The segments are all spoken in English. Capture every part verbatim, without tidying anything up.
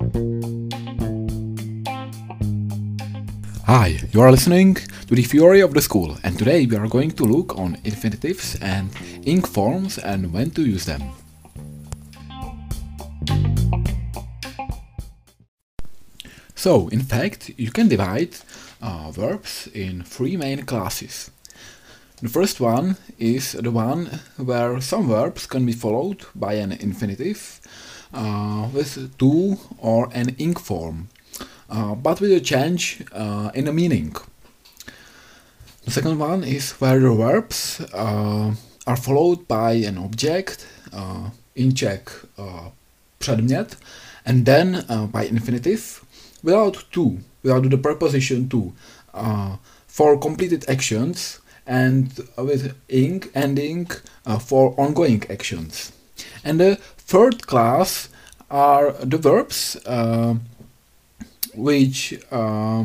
Hi, you are listening to the Theory of the School, and today we are going to look on infinitives and ing forms and when to use them. So, in fact, you can divide uh, verbs in three main classes. The first one is the one where some verbs can be followed by an infinitive uh, with to or an ing form, uh, but with a change uh, in the meaning. The second one is where the verbs uh, are followed by an object, uh, in Czech uh, předmět, and then uh, by infinitive without to, without the preposition to, uh, for completed actions, and with ing ending uh, for ongoing actions. And the third class are the verbs uh, which uh,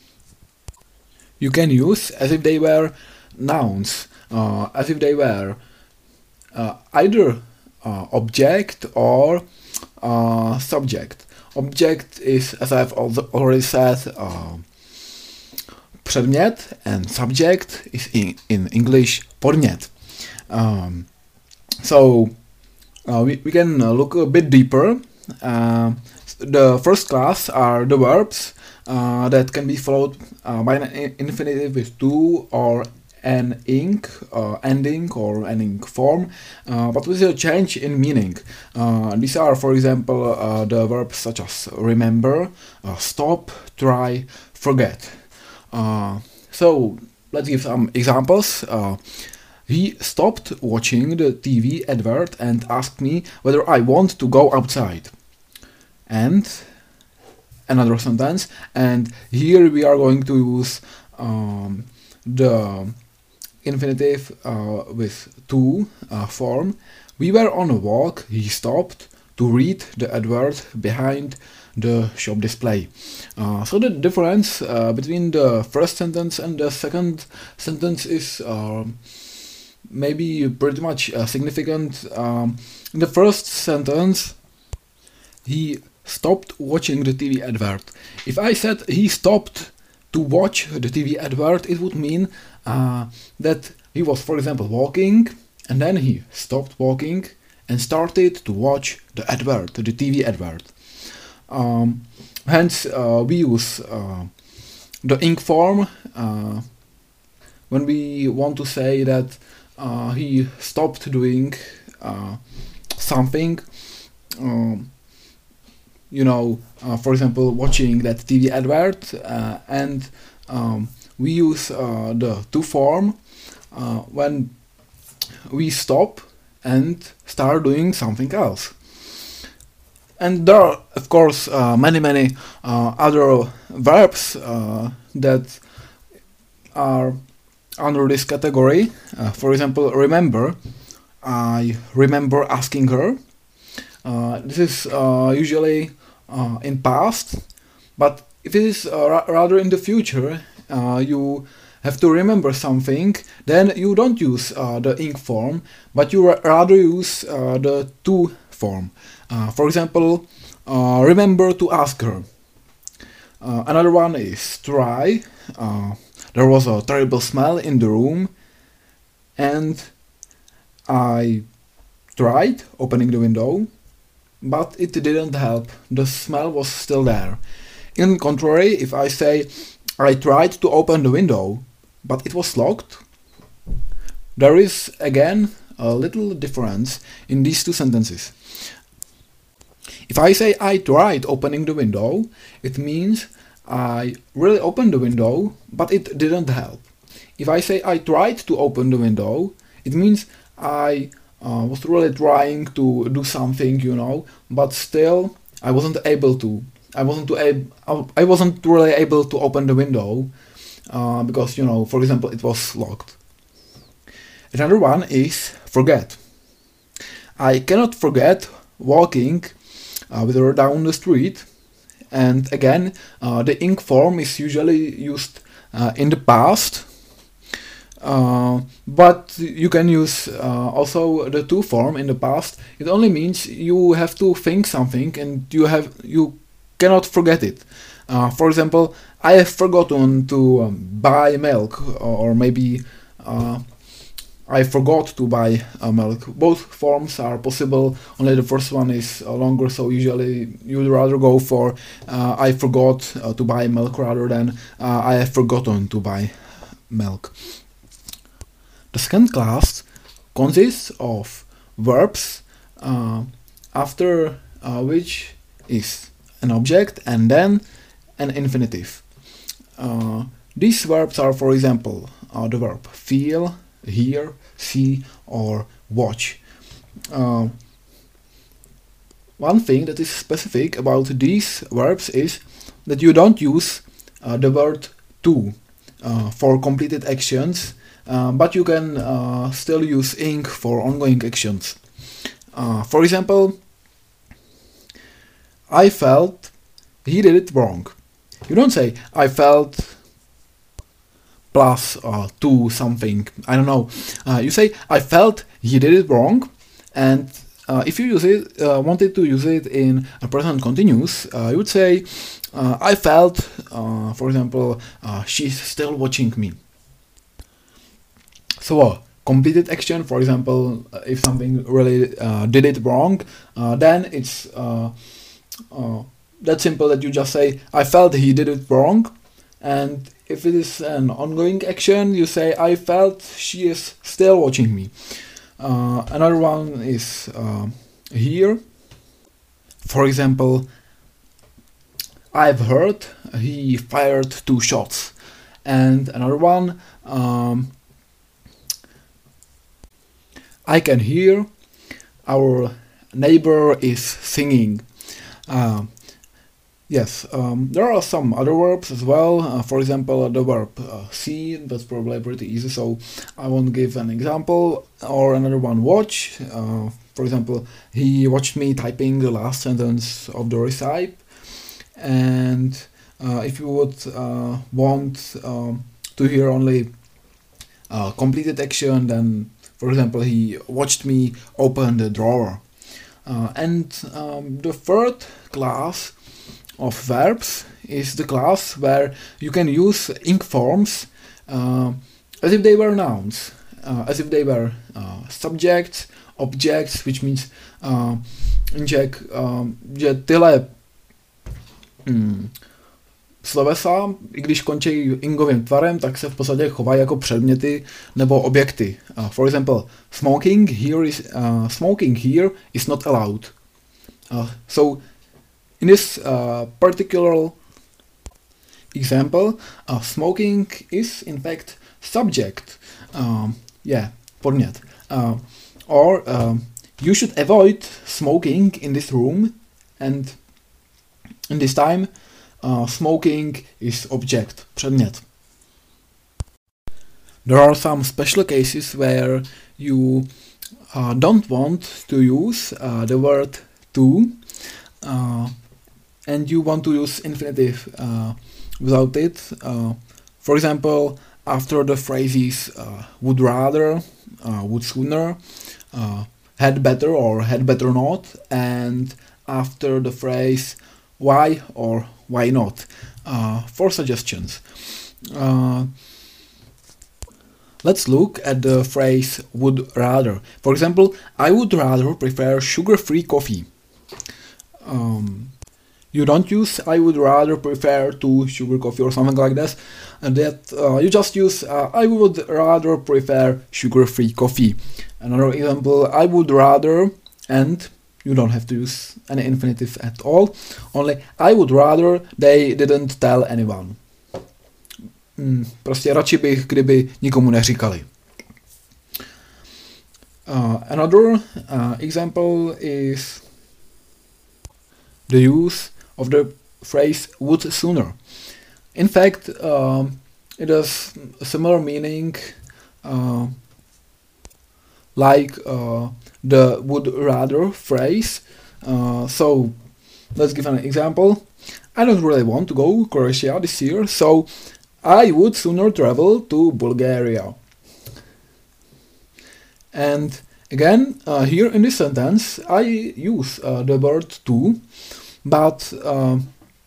you can use as if they were nouns, uh, as if they were uh, either uh, object or uh, subject. Object is, as I've already said, uh, předmět, and subject is in, in English podnět. Um, so uh, we, we can look a bit deeper. Uh, the first class are the verbs uh, that can be followed uh, by an infinitive with to or an ing, uh, ending or an ing form, uh, but with a change in meaning. Uh, these are, for example, uh, the verbs such as remember, uh, stop, try, forget. Uh, so let's give some examples. Uh, he stopped watching the T V advert and asked me whether I want to go outside. And another sentence, and here we are going to use um, the infinitive uh, with to uh, form. We were on a walk, he stopped to read the advert behind the shop display. Uh, so the difference uh, between the first sentence and the second sentence is uh, maybe pretty much uh, significant. Um, in the first sentence, he stopped watching the T V advert. If I said he stopped to watch the T V advert, it would mean uh, that he was, for example, walking, and then he stopped walking and started to watch the advert, the T V advert. Um, hence, uh, we use uh, the ing form uh, when we want to say that uh, he stopped doing uh, something. Um, you know, uh, for example, watching that T V advert, uh, and um, we use uh, the to form uh, when we stop and start doing something else. And there are, of course, uh, many, many uh, other verbs uh, that are under this category. Uh, for example, remember. I remember asking her. Uh, this is uh, usually uh, in past, but if it is uh, ra rather in the future, uh, you have to remember something, then you don't use uh, the ing form, but you ra rather use uh, the to form. Uh, for example, uh, remember to ask her. Uh, another one is try. Uh, there was a terrible smell in the room, and I tried opening the window, but it didn't help. The smell was still there. In contrary, if I say I tried to open the window, but it was locked, there is again a little difference in these two sentences. If I say I tried opening the window, it means I really opened the window, but it didn't help. If I say I tried to open the window, it means I uh, was really trying to do something, you know, but still I wasn't able to. I wasn't to ab I wasn't really able to open the window uh, because, you know, for example, it was locked. Another one is forget. I cannot forget walking uh, with her down the street, and again, uh, the ing form is usually used uh, in the past. Uh, but you can use uh, also the to form in the past. It only means you have to think something, and you have you cannot forget it. Uh, for example, I have forgotten to um, buy milk, or maybe uh, I forgot to buy uh, milk. Both forms are possible, only the first one is uh, longer, so usually you would rather go for uh, I forgot uh, to buy milk rather than uh, I have forgotten to buy milk. The second class consists of verbs uh, after uh, which is an object and then an infinitive. Uh, these verbs are, for example, uh, the verb feel, hear, see, or watch. Uh, one thing that is specific about these verbs is that you don't use uh, the word to uh, for completed actions, uh, but you can uh, still use ing for ongoing actions. Uh, for example, I felt he did it wrong. You don't say I felt plus uh, to something, I don't know. Uh, you say I felt he did it wrong, and uh, if you use it, uh, wanted to use it in a present continuous, uh, you would say uh, I felt, uh, for example, uh, she's still watching me. So a completed action, for example, if something really uh, did it wrong, uh, then it's uh, uh, that simple that you just say I felt he did it wrong. And if it is an ongoing action, you say I felt she is still watching me. Uh, another one is uh, here. For example, I've heard he fired two shots. And another one, um, I can hear our neighbor is singing. Uh, Yes, um, there are some other verbs as well. Uh, for example, the verb uh, see, that's probably pretty easy, so I won't give an example. Or another one, watch. Uh, for example, he watched me typing the last sentence of the recipe. And uh, if you would uh, want um, to hear only uh, completed action, then, for example, he watched me open the drawer. Uh, and um, the third class of verbs is the class where you can use ing forms uh, as if they were nouns, uh, as if they were uh, subjects, objects, which means uh, in Czech, um, že tyhle mm, slovesa, i když končí ingovým tvarem, tak se v podstatě chovají jako předměty nebo objekty. Uh, for example, smoking here is uh, smoking here is not allowed. Uh, so in this uh, particular example, uh, smoking is in fact subject. Um, yeah, podnět. Uh, or um, you should avoid smoking in this room, and in this time, uh, smoking is object, předmět. There are some special cases where you uh, don't want to use uh, the word to. Uh, and you want to use infinitive uh, without it. Uh, for example, after the phrases uh, would rather, uh, would sooner, uh, had better or had better not, and after the phrase why or why not. Uh, for suggestions. Uh, let's look at the phrase would rather. For example, I would rather prefer sugar-free coffee. Um, You don't use I would rather prefer to sugar coffee or something like this, and that uh, you just use uh, I would rather prefer sugar-free coffee. Another example, I would rather, and you don't have to use any infinitive at all, only I would rather they didn't tell anyone. Mm, prostě radši bych, kdyby nikomu neříkali. Uh, another uh, example is the use of the phrase would sooner. In fact, uh, it has a similar meaning uh, like uh, the would rather phrase. Uh, so let's give an example. I don't really want to go to Croatia this year, so I would sooner travel to Bulgaria. And again, uh, here in this sentence, I use uh, the word to, but uh,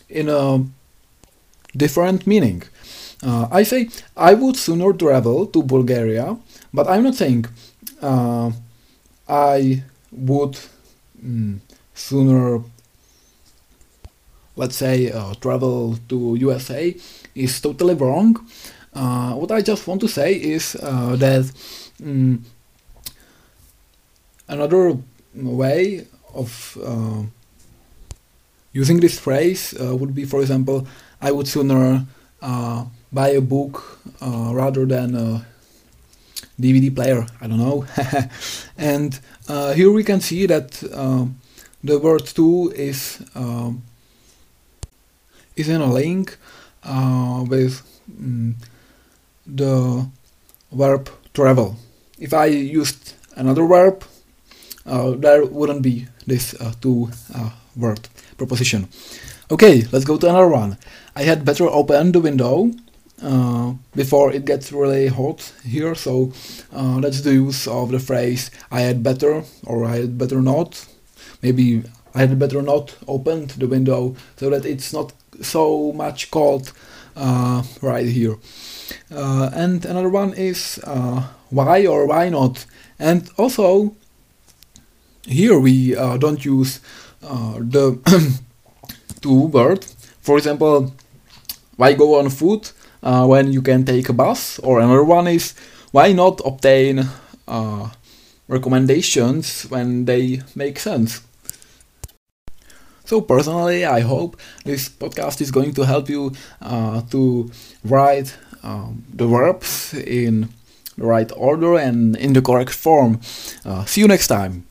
in a different meaning. Uh, I say I would sooner travel to Bulgaria, but I'm not saying uh, I would mm, sooner, let's say, uh, travel to U S A is totally wrong. Uh, what I just want to say is uh, that mm, another way of uh, using this phrase uh, would be, for example, I would sooner uh, buy a book uh, rather than a D V D player. I don't know. And uh, here we can see that uh, the word to is uh, is in a link uh, with mm, the verb travel. If I used another verb, uh, there wouldn't be this uh, to uh, word preposition. Okay, let's go to another one. I had better open the window uh, before it gets really hot here, so uh, that's the use of the phrase I had better or I had better not. Maybe I had better not opened the window so that it's not so much cold uh, right here. Uh, and another one is uh, why or why not. And also here we uh, don't use uh, the to word. For example, why go on foot uh, when you can take a bus? Or another one is why not obtain uh, recommendations when they make sense? So personally, I hope this podcast is going to help you uh, to write um, the verbs in the right order and in the correct form. Uh, see you next time.